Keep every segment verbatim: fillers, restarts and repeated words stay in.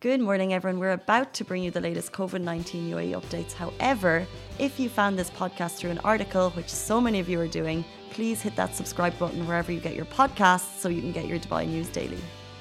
Good morning, everyone. We're about to bring you the latest COVID nineteen U A E updates. However, if you found this podcast through an article, which so many of you are doing, please hit that subscribe button wherever you get your podcasts so you can get your Dubai news daily.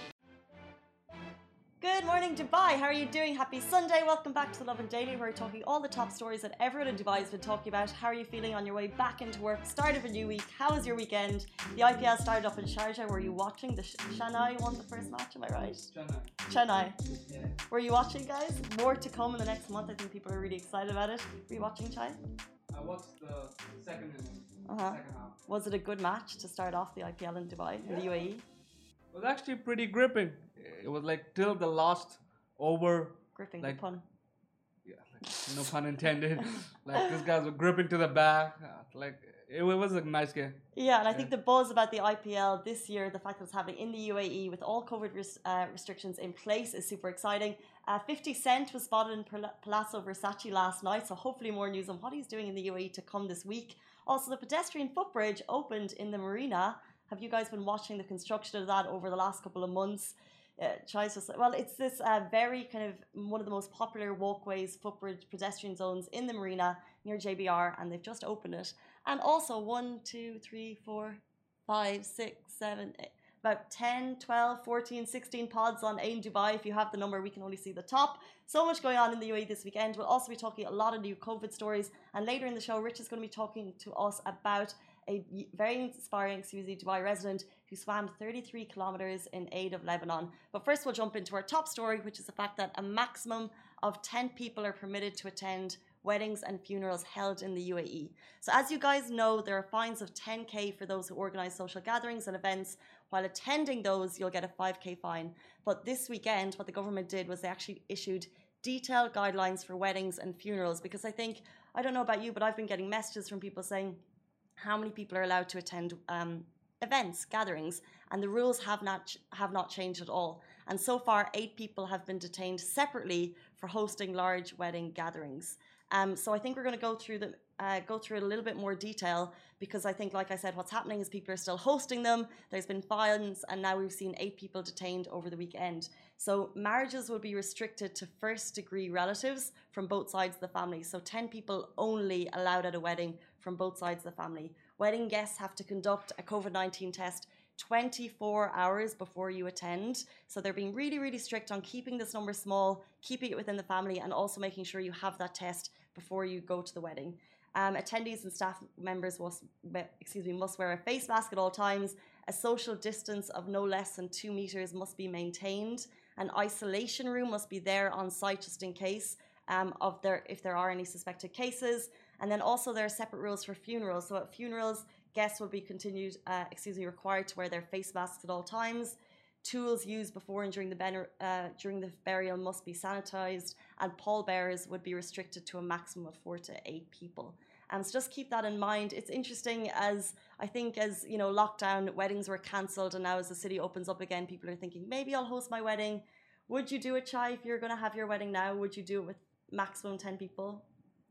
Good morning, Dubai. How are you doing? Happy Sunday. Welcome back to the Lovin Daily, where we're talking all the top stories that everyone in Dubai has been talking about. How are you feeling on your way back into work? Start of a new week. How was your weekend? The I P L started up in Sharjah. Were you watching? The Sh- Shanghai won the first match, am I right? Chennai. Chennai. Yeah. Were you watching, guys? More to come in the next month. I think people are really excited about it. Were you watching, Chai? I watched the second inning, Uh-huh. second half. Was it a good match to start off the I P L in Dubai, in the U A E? It was actually pretty gripping. It was like till the last over. Gripping, like, the pun. Yeah, like, no pun intended. Like these guys were gripping to the back. Like it, it was a nice game. Yeah, and I Yeah. think the buzz about the I P L this year, the fact that it's happening in the U A E with all COVID res- uh, restrictions in place, is super exciting. Uh, fifty Cent was spotted in Pal- Palazzo Versace last night, so hopefully more news on what he's doing in the U A E to come this week. Also, the pedestrian footbridge opened in the marina. Have you guys been watching the construction of that over the last couple of months? Uh, Chai's just well, it's this uh, very kind of one of the most popular walkways, footbridge, pedestrian zones in the marina near J B R, and they've just opened it. And also one, two, three, four, five, six, seven, eight, about ten, twelve, fourteen, sixteen pods on AIM Dubai. If you have the number, we can only see the top. So much going on in the U A E this weekend. We'll also be talking a lot of new COVID stories. And later in the show, Rich is going to be talking to us about a very inspiring, excuse me, Dubai resident who swam thirty-three kilometers in aid of Lebanon. But first, we'll jump into our top story, which is the fact that a maximum of ten people are permitted to attend weddings and funerals held in the U A E. So as you guys know, there are fines of ten K for those who organise social gatherings and events. While attending those, you'll get a five K fine. But this weekend, what the government did was they actually issued detailed guidelines for weddings and funerals, because I think, I don't know about you, but I've been getting messages from people saying how many people are allowed to attend um, events, gatherings, and the rules have not have not changed at all. And so far, eight people have been detained separately for hosting large wedding gatherings. Um, so I think we're going to go through the uh, go through it a little bit more detail, because I think, like I said, what's happening is people are still hosting them. There's been fines, and now we've seen eight people detained over the weekend. So marriages will be restricted to first degree relatives from both sides of the family. So ten people only allowed at a wedding from both sides of the family. Wedding guests have to conduct a COVID nineteen test twenty-four hours before you attend. So they're being really, really strict on keeping this number small, keeping it within the family, and also making sure you have that test before you go to the wedding. Um, attendees and staff members must, excuse me, must wear a face mask at all times. A social distance of no less than two meters must be maintained. An isolation room must be there on site just in case um, of there if there are any suspected cases. And then also there are separate rules for funerals. So at funerals, guests will be continued, uh, excuse me, required to wear their face masks at all times. Tools used before and during the, ben- uh, during the burial must be sanitized, and pallbearers would be restricted to a maximum of four to eight people. Um, so just keep that in mind. It's interesting, as I think as you know, lockdown, weddings were cancelled, and now as the city opens up again, people are thinking, maybe I'll host my wedding. Would you do it, Chai, if you're going to have your wedding now? Would you do it with maximum ten people?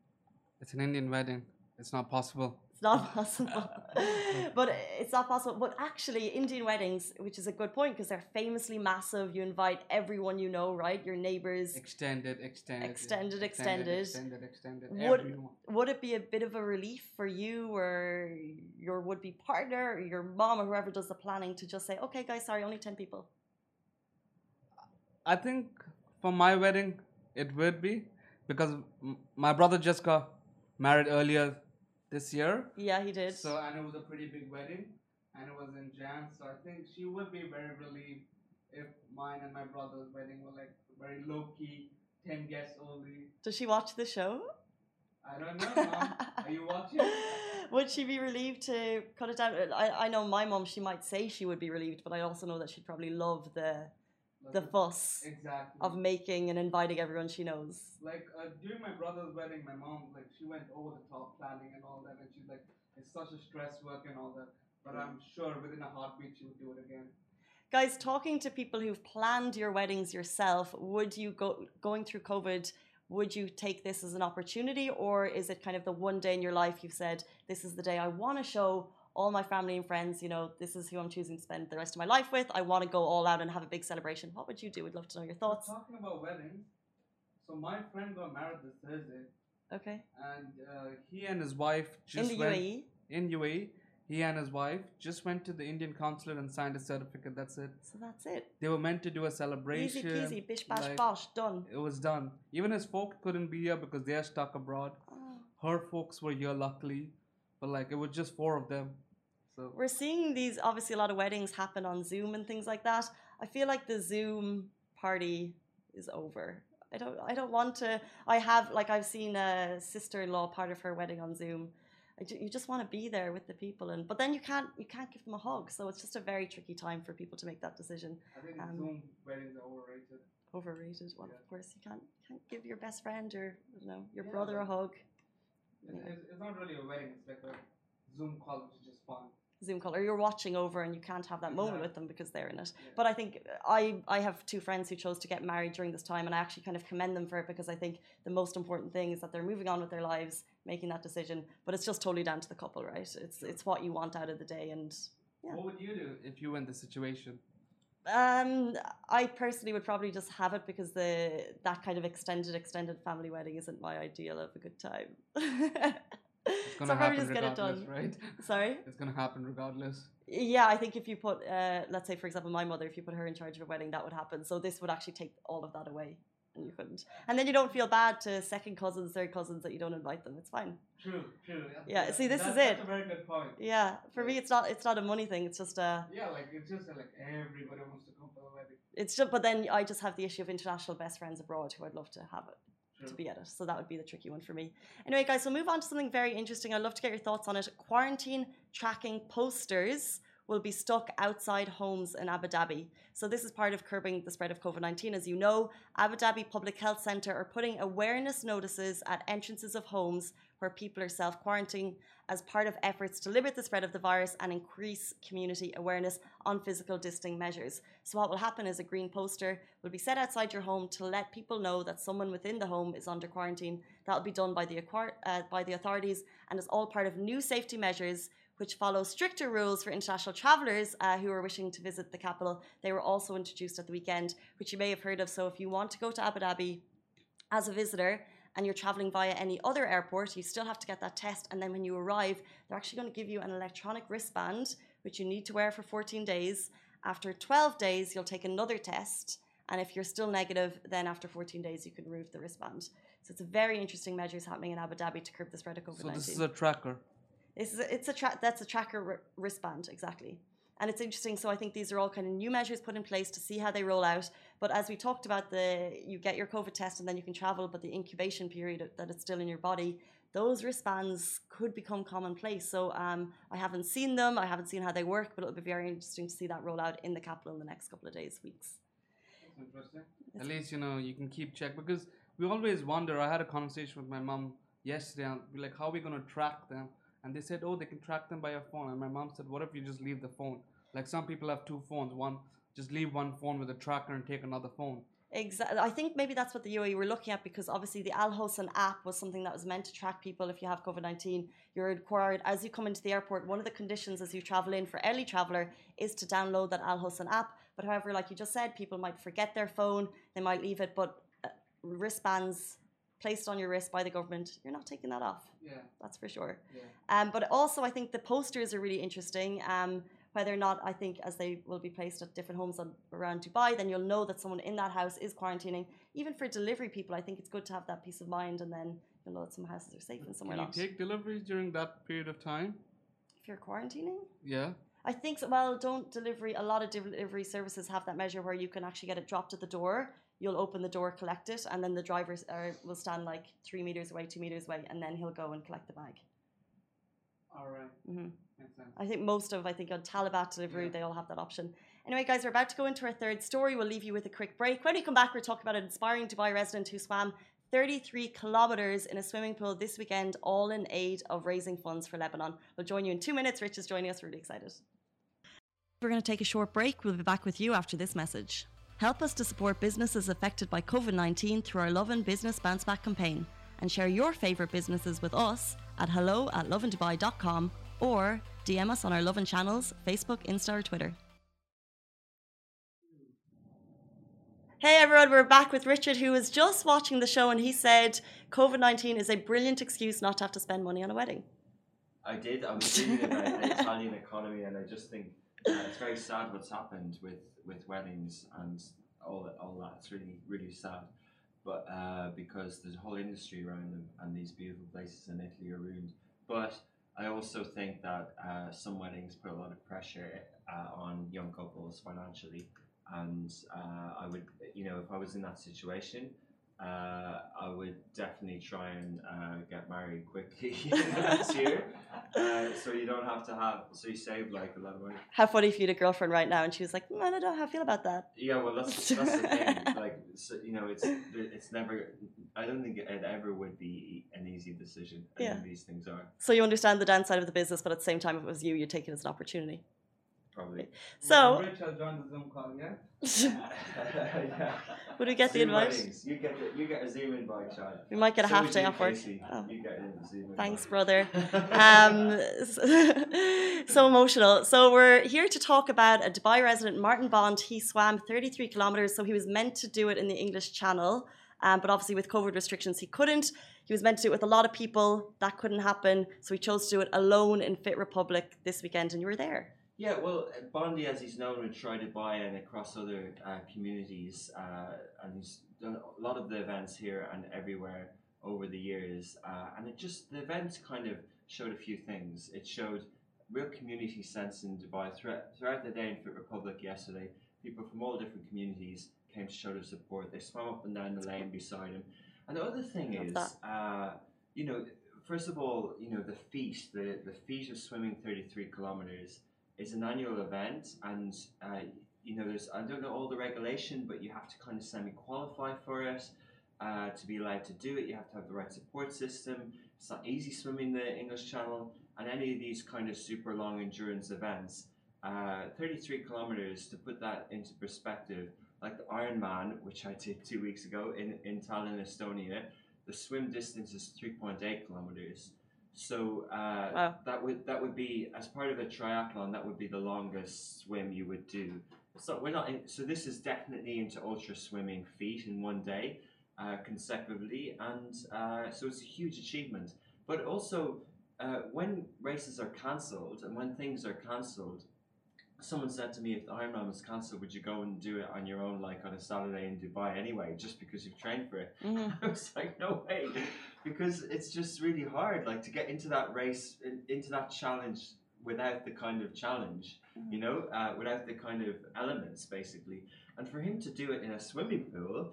It's an Indian wedding. It's not possible. It's not possible. But it's not possible. But actually, Indian weddings, which is a good point, because they're famously massive. You invite everyone you know, right? Your neighbors. Extended, extended. Extended, extended. extended. Extended, extended. Would, Everyone. would it be a bit of a relief for you or your would-be partner or your mom or whoever does the planning to just say, okay, guys, sorry, only ten people? I think for my wedding, it would be, because m- my brother just got married earlier this year. Yeah, he did. So, and it was a pretty big wedding, and it was in Jan. So I think she would be very relieved if mine and my brother's wedding were like very low key, ten guests only. Does she watch the show? I don't know, Mom. Are you watching? Would she be relieved to cut it down? I, I know my mom, she might say she would be relieved, but I also know that she'd probably love the the fuss Exactly. of making and inviting everyone she knows. Like uh, during my brother's wedding, my mom, like, she went over the top planning and all that, and she's like, it's such a stress work and all that. But I'm sure within a heartbeat she would do it again. Guys, talking to people who've planned your weddings yourself, would you go going through COVID? Would you take this as an opportunity, or is it kind of the one day in your life you've said, this is the day I want to show all my family and friends, you know, this is who I'm choosing to spend the rest of my life with. I want to go all out and have a big celebration. What would you do? We'd love to know your thoughts. Talking about weddings, so my friend got married this Thursday. Okay. And uh, he and his wife just in the went... U A E? In U A E. He and his wife just went to the Indian consulate and signed a certificate. That's it. So that's it. They were meant to do a celebration. Easy peasy, bish bash like, bosh, done. It was done. Even his folks couldn't be here because they are stuck abroad. Oh. Her folks were here, luckily. But like, it was just four of them. So we're seeing these, obviously a lot of weddings happen on Zoom and things like that. I feel like the Zoom party is over. I don't, I don't want to, I have, like I've seen a sister-in-law part of her wedding on Zoom. You just want to be there with the people, and but then you can't you can't give them a hug, so it's just a very tricky time for people to make that decision. I think um, Zoom weddings are overrated. Overrated. Well, yeah. Of course you can't can't give your best friend or you know your yeah, brother a hug. It's, yeah. it's, it's not really a wedding; it's like a Zoom call, which is just fun. Zoom call, or you're watching over and you can't have that moment with them because they're in it. Yeah. But I think I, I have two friends who chose to get married during this time, and I actually kind of commend them for it because I think the most important thing is that they're moving on with their lives, making that decision. But it's just totally down to the couple, right? It's it's what you want out of the day, and yeah. What would you do if you were in this situation? Um, I personally would probably just have it because the that kind of extended extended family wedding isn't my ideal of a good time. It's gonna so happen just regardless, get it done. right? Sorry? It's gonna happen regardless. Yeah, I think if you put, uh, let's say for example, my mother, if you put her in charge of a wedding, that would happen. So this would actually take all of that away, and you couldn't. And then you don't feel bad to second cousins, third cousins that you don't invite them. It's fine. True, true. Yeah. yeah see, this that's, is it. That's a very good point. Yeah, for me, it's not. It's not a money thing. It's just a. Yeah, like it's just like everybody wants to come for the wedding. It's just, but then I just have the issue of international best friends abroad who I'd love to have it. To be at it. So that would be the tricky one for me. Anyway, guys, so move on to something very interesting. I'd love to get your thoughts on it. Quarantine tracking posters will be stuck outside homes in Abu Dhabi. So this is part of curbing the spread of COVID nineteen. As you know, Abu Dhabi Public Health Centre are putting awareness notices at entrances of homes where people are self-quarantining as part of efforts to limit the spread of the virus and increase community awareness on physical distancing measures. So what will happen is a green poster will be set outside your home to let people know that someone within the home is under quarantine. That will be done by the, uh, by the authorities and is all part of new safety measures which follow stricter rules for international travellers uh, who are wishing to visit the capital. They were also introduced at the weekend, which you may have heard of. So if you want to go to Abu Dhabi as a visitor, and you're traveling via any other airport, you still have to get that test. And then when you arrive, they're actually going to give you an electronic wristband, which you need to wear for fourteen days. After twelve days, you'll take another test. And if you're still negative, then after fourteen days, you can remove the wristband. So it's a very interesting measures happening in Abu Dhabi to curb the spread of COVID nineteen. So this is a tracker? This is a, it's a tra- that's a tracker wristband, exactly. And it's interesting. So I think these are all kind of new measures put in place to see how they roll out. But as we talked about, the you get your COVID test and then you can travel, but the incubation period that it's still in your body, those wristbands could become commonplace. So um, I haven't seen them. I haven't seen how they work, but it'll be very interesting to see that roll out in the capital in the next couple of days, weeks. That's interesting. It's At least, you know, you can keep check because we always wonder. I had a conversation with my mom yesterday and be like, how are we going to track them? And they said, oh, they can track them by your phone. And my mom said, what if you just leave the phone? Like some people have two phones. One, just leave one phone with a tracker and take another phone. Exactly. I think maybe that's what the U A E were looking at because obviously the Al Hosn app was something that was meant to track people if you have COVID nineteen. You're required, as you come into the airport, one of the conditions as you travel in for early traveller is to download that Al Hosn app. But however, like you just said, people might forget their phone. They might leave it. But uh, wristbands placed on your wrist by the government, you're not taking that off. Yeah. That's for sure. Yeah. Um, but also, I think the posters are really interesting. Um, whether or not, I think, as they will be placed at different homes on, around Dubai, then you'll know that someone in that house is quarantining. Even for delivery people, I think it's good to have that peace of mind, and then you'll know that some houses are safe and somewhere not. not. Can you take deliveries during that period of time? If you're quarantining? Yeah. I think so. Well, don't delivery, a lot of delivery services have that measure where you can actually get it dropped at the door. You'll open the door, collect it, and then the driver uh, will stand like three meters away, two meters away, and then he'll go and collect the bag. All right. Mm-hmm. Makes sense. I think most of, I think on Talabat delivery, Yeah. they all have that option. Anyway, guys, we're about to go into our third story. We'll leave you with a quick break. When we come back, we're talking about an inspiring Dubai resident who swam thirty-three kilometers in a swimming pool this weekend, all in aid of raising funds for Lebanon. We'll join you in two minutes. Rich is joining us. We're really excited. We're going to take a short break. We'll be back with you after this message. Help us to support businesses affected by COVID nineteen through our Love and Business Bounce Back campaign, and share your favourite businesses with us at hello at loveanddubai dot com or D M us on our Lovin channels, Facebook, Insta or Twitter. Hey everyone, we're back with Richard, who was just watching the show, and he said COVID nineteen is a brilliant excuse not to have to spend money on a wedding. I did. I was reading about the Italian economy, and I just think uh, it's very sad what's happened with, with weddings and all all that. It's really really sad. But uh, because there's a whole industry around them, and these beautiful places in Italy are ruined. But I also think that uh, some weddings put a lot of pressure uh, on young couples financially. And uh, I would, you know, if I was in that situation, uh, I would definitely try and uh, get married quickly this year, uh, so you don't have to have, so you save like a lot of money. How funny if you had a girlfriend right now and she was like, mm, I don't know how I feel about that. Yeah, well, that's that's the thing. Like, so, you know, it's it's never. I don't think it ever would be an easy decision. I Yeah. think these things are So you understand the downside of the business, but at the same time, if it was you, you'd take it as an opportunity. probably. So, Rich, I'll join the Zoom call, yeah? Yeah. would we get the Zoom invite? weddings. You get the, you get a Zoom invite, Chad. We might get a So half would day you, off work. Casey. Oh. You get a Zoom invite. Thanks, brother. Um, so emotional. So we're here to talk about a Dubai resident, Martin Bond. He swam thirty-three kilometers, so he was meant to do it in the English Channel, um, but obviously with COVID restrictions, he couldn't. He was meant to do it with a lot of people. That couldn't happen, so he chose to do it alone in Fit Republic this weekend, and you were there. Yeah, well, Bondi, as he's known, would try Dubai and across other uh, communities, uh, and he's done a lot of the events here and everywhere over the years. Uh, and it just, the event kind of showed a few things. It showed real community sense in Dubai. Throughout, throughout the day in Fit Republic yesterday, people from all different communities came to show their support. They swam up and down the lane beside him. And the other thing Love is, that. uh, you know, first of all, you know, the feat, the, the feat of swimming thirty-three kilometers is an annual event, and uh, you know, there's, I don't know all the regulation, but you have to kind of semi-qualify for it uh, to be allowed to do it. You have to have the right support system. It's not easy swimming the English Channel, and any of these kind of super long endurance events. Uh, thirty-three kilometers, to put that into perspective, like the Ironman, which I did two weeks ago in, in Tallinn, Estonia, the swim distance is three point eight kilometers. So uh, Wow. that would that would be, as part of a triathlon, that would be the longest swim you would do. So we're not in, so this is definitely into ultra swimming feet in one day uh, consecutively, and uh, so it's a huge achievement. But also, uh, when races are cancelled and when things are cancelled, someone said to me, if the Ironman was cancelled, would you go and do it on your own, like on a Saturday in Dubai anyway, just because you've trained for it? Mhm. I was like, no way, because it's just really hard, like to get into that race, in, into that challenge without the kind of challenge, you know, uh, without the kind of elements, basically. And for him to do it in a swimming pool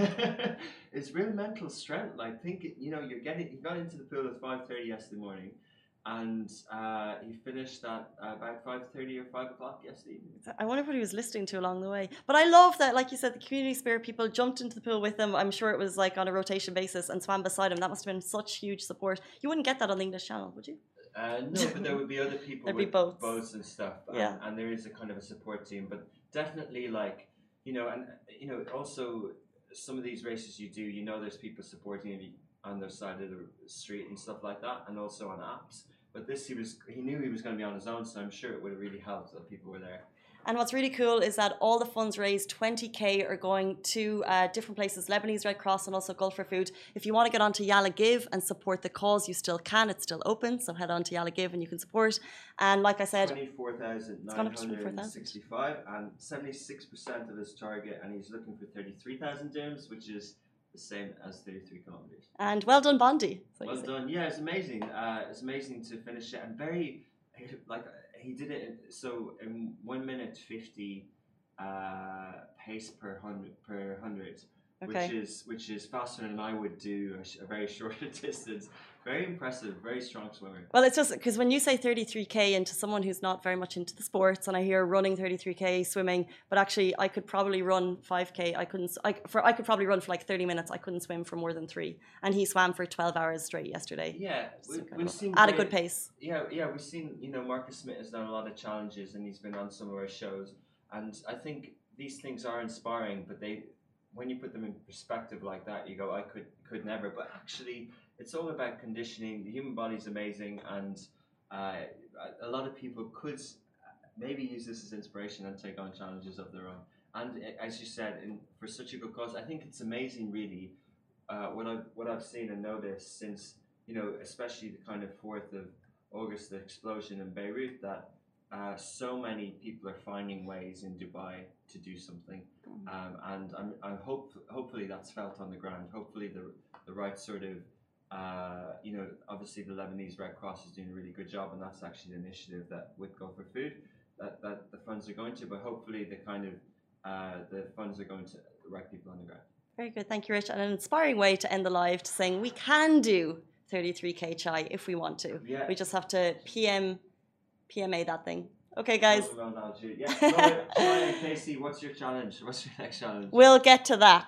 is real mental strength. Like, think, you know, you're getting, he got into the pool at five thirty yesterday morning, and uh, he finished at uh, about five thirty or five o'clock yesterday evening. I wonder what he was listening to along the way. But I love that, like you said, the community spirit, people jumped into the pool with him. I'm sure it was like on a rotation basis, and swam beside him. That must have been such huge support. You wouldn't get that on the English Channel, would you? Uh, no, but there would be other people There'd with be boats. boats and stuff, and, Yeah. and there is a kind of a support team. But definitely, like, you know, and you know, also some of these races you do, you know, there's people supporting you on their side of the street and stuff like that, and also on apps. But this, he was, he knew he was going to be on his own, so I'm sure it would have really helped that people were there. And what's really cool is that all the funds raised, twenty K, are going to uh, different places, Lebanese Red Cross and also Gulf for Food. If you want to get onto Yalla Give and support the cause, you still can. It's still open, so head on to Yalla Give and you can support. And like I said, twenty-four thousand nine hundred sixty-five, and seventy-six percent of his target, and he's looking for thirty-three thousand dirhams, which is the same as thirty-three kilometers. And well done, Bondi. Well done. Yeah, it's amazing. Uh, it's amazing to finish it, and very, like, he did it in, so in one minute fifty uh, pace per hundred per hundred, Okay. which is which is faster than I would do a, sh- a very short distance. Very impressive. Very strong swimmer. Well, it's just because when you say thirty-three K into someone who's not very much into the sports, and I hear running thirty-three K, swimming, but actually I could probably run five K. I couldn't. I for I could probably run for like thirty minutes. I couldn't swim for more than three, and he swam for twelve hours straight yesterday. Yeah, we, we've seen at a great- good pace. Yeah, yeah, we've seen, you know, Marcus Smith has done a lot of challenges, and he's been on some of our shows, and I think these things are inspiring, but they, when you put them in perspective like that, you go, I could could never. But actually, it's all about conditioning. The human body's amazing, and uh, a lot of people could maybe use this as inspiration and take on challenges of their own. And as you said, in, for such a good cause, I think it's amazing, really, uh, what I've what I've seen and noticed since, you know, especially the kind of fourth of August, the explosion in Beirut, that uh, so many people are finding ways in Dubai to do something, um, and I'm, I'm hope hopefully that's felt on the ground. Hopefully the the right sort of uh, you know, obviously the Lebanese Red Cross is doing a really good job, and that's actually the initiative that with Go for Food that, that the funds are going to. But hopefully the kind of uh, the funds are going to the right people on the ground. Very good, thank you, Rich. And an inspiring way to end the live, to saying we can do thirty-three K chai if we want to. Yeah. We just have to P M P M A that thing. Okay, guys. Yeah. Laura, Laura, Casey, what's your challenge? What's your next challenge? We'll get to that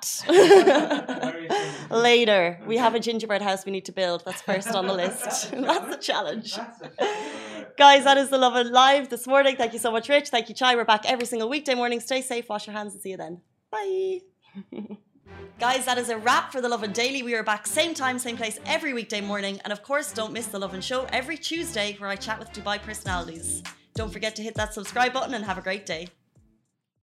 later. We have a gingerbread house we need to build. That's first on the list. That's the challenge. That's a challenge. Guys, that is the Love and Live this morning. Thank you so much, Rich. Thank you, Chai. We're back every single weekday morning. Stay safe, wash your hands, and see you then. Bye. Guys, that is a wrap for the Lovin Daily. We are back same time, same place every weekday morning. And of course, don't miss the Lovin Show every Tuesday where I chat with Dubai personalities. Don't forget to hit that subscribe button and have a great day.